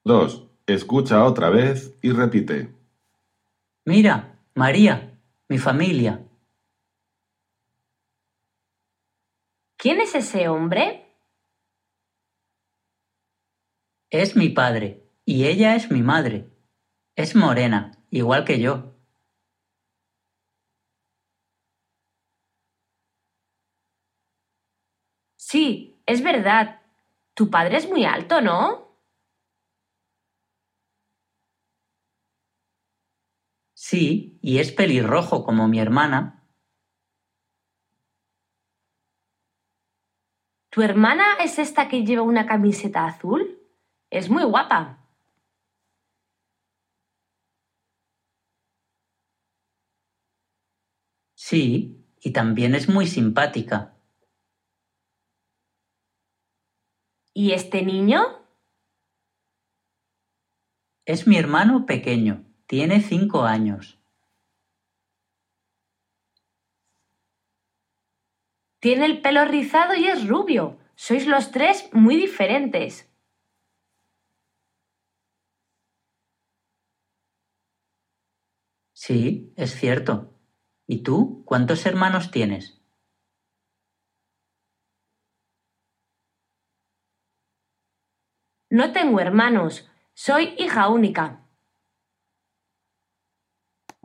2. Escucha otra vez y repite. Mira, María, mi familia. ¿Quién es ese hombre? Es mi padre y ella es mi madre. Es morena, igual que yo. Sí, es verdad. Tu padre es muy alto, ¿no? Sí, y es pelirrojo como mi hermana. ¿Tu hermana es esta que lleva una camiseta azul? Es muy guapa. Sí, y también es muy simpática. ¿Y este niño? Es mi hermano pequeño, tiene 5 años. Tiene el pelo rizado y es rubio. Sois los tres muy diferentes. Sí, es cierto. ¿Y tú cuántos hermanos tienes? No tengo hermanos. Soy hija única.